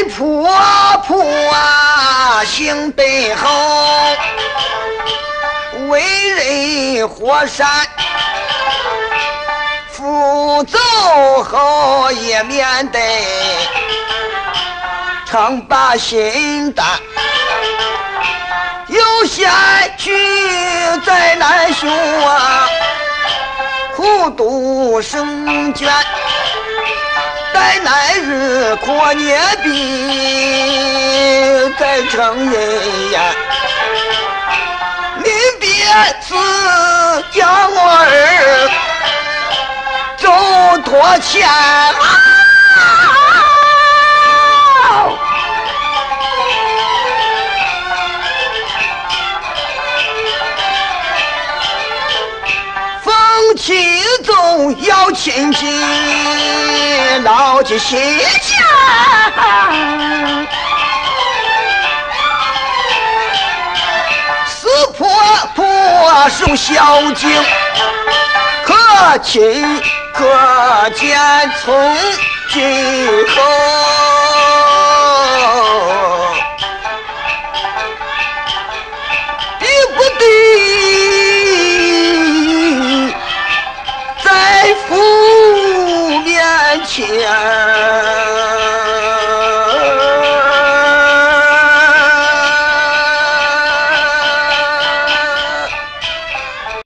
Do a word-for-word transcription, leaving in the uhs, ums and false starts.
婆婆啊行背后，为人火山扶走后也面对常把心担，有险去再难修啊，苦读生卷待乃日阔年毕再成人呀，临别时将我儿走多前啊，风起走要亲戚牢记心间，死婆婆受孝敬，可亲可见从今后。